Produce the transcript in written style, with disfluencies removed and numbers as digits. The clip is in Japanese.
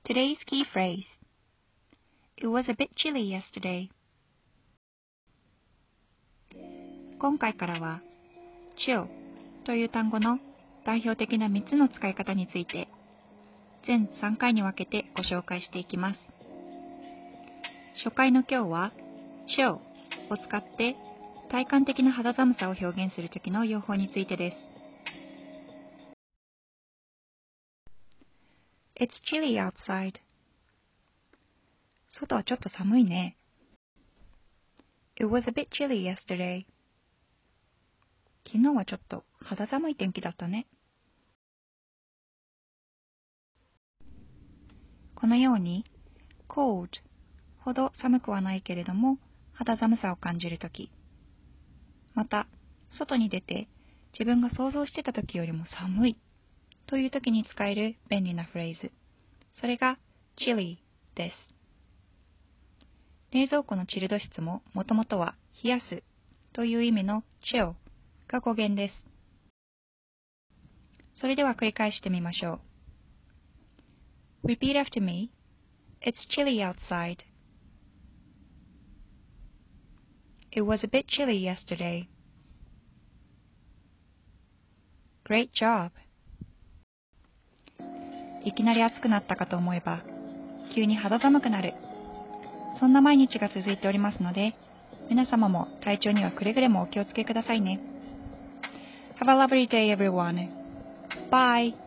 Today's key phrase. It was a bit chilly yesterday. 今回からは chill という単語の代表的な3つの使い方について全3回に分けてご紹介していきます。初回の今日は chill を使って体感的な肌寒さを表現するときの用法についてです。It's chilly outside. 外はちょっと寒いね。It was a bit chilly yesterday. 昨日はちょっと肌寒い天気だったね。このように cold ほど寒くはないけれども肌寒さを感じるとき、また外に出て自分が想像してたときよりも寒いというときに使える便利なフレーズ、それが chilly です。冷蔵庫のチルド室ももともとは冷やすという意味の chill が語源です。それでは繰り返してみましょう。Repeat after me. It's chilly outside. It was a bit chilly yesterday. Great job. いきなり暑くなったかと思えば、急に肌寒くなる。そんな毎日が続いておりますので、皆様も体調にはくれぐれもお気をつけくださいね。Have a lovely day, everyone. Bye.